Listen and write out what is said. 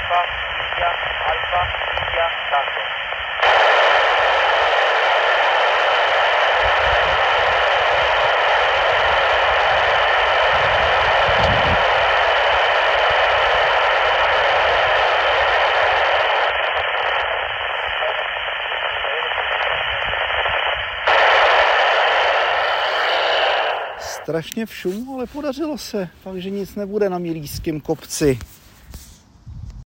Alfa, India, Tango. Strašně v šumu, ale podařilo se. Fakt, že nic nebude na Milýském kopci.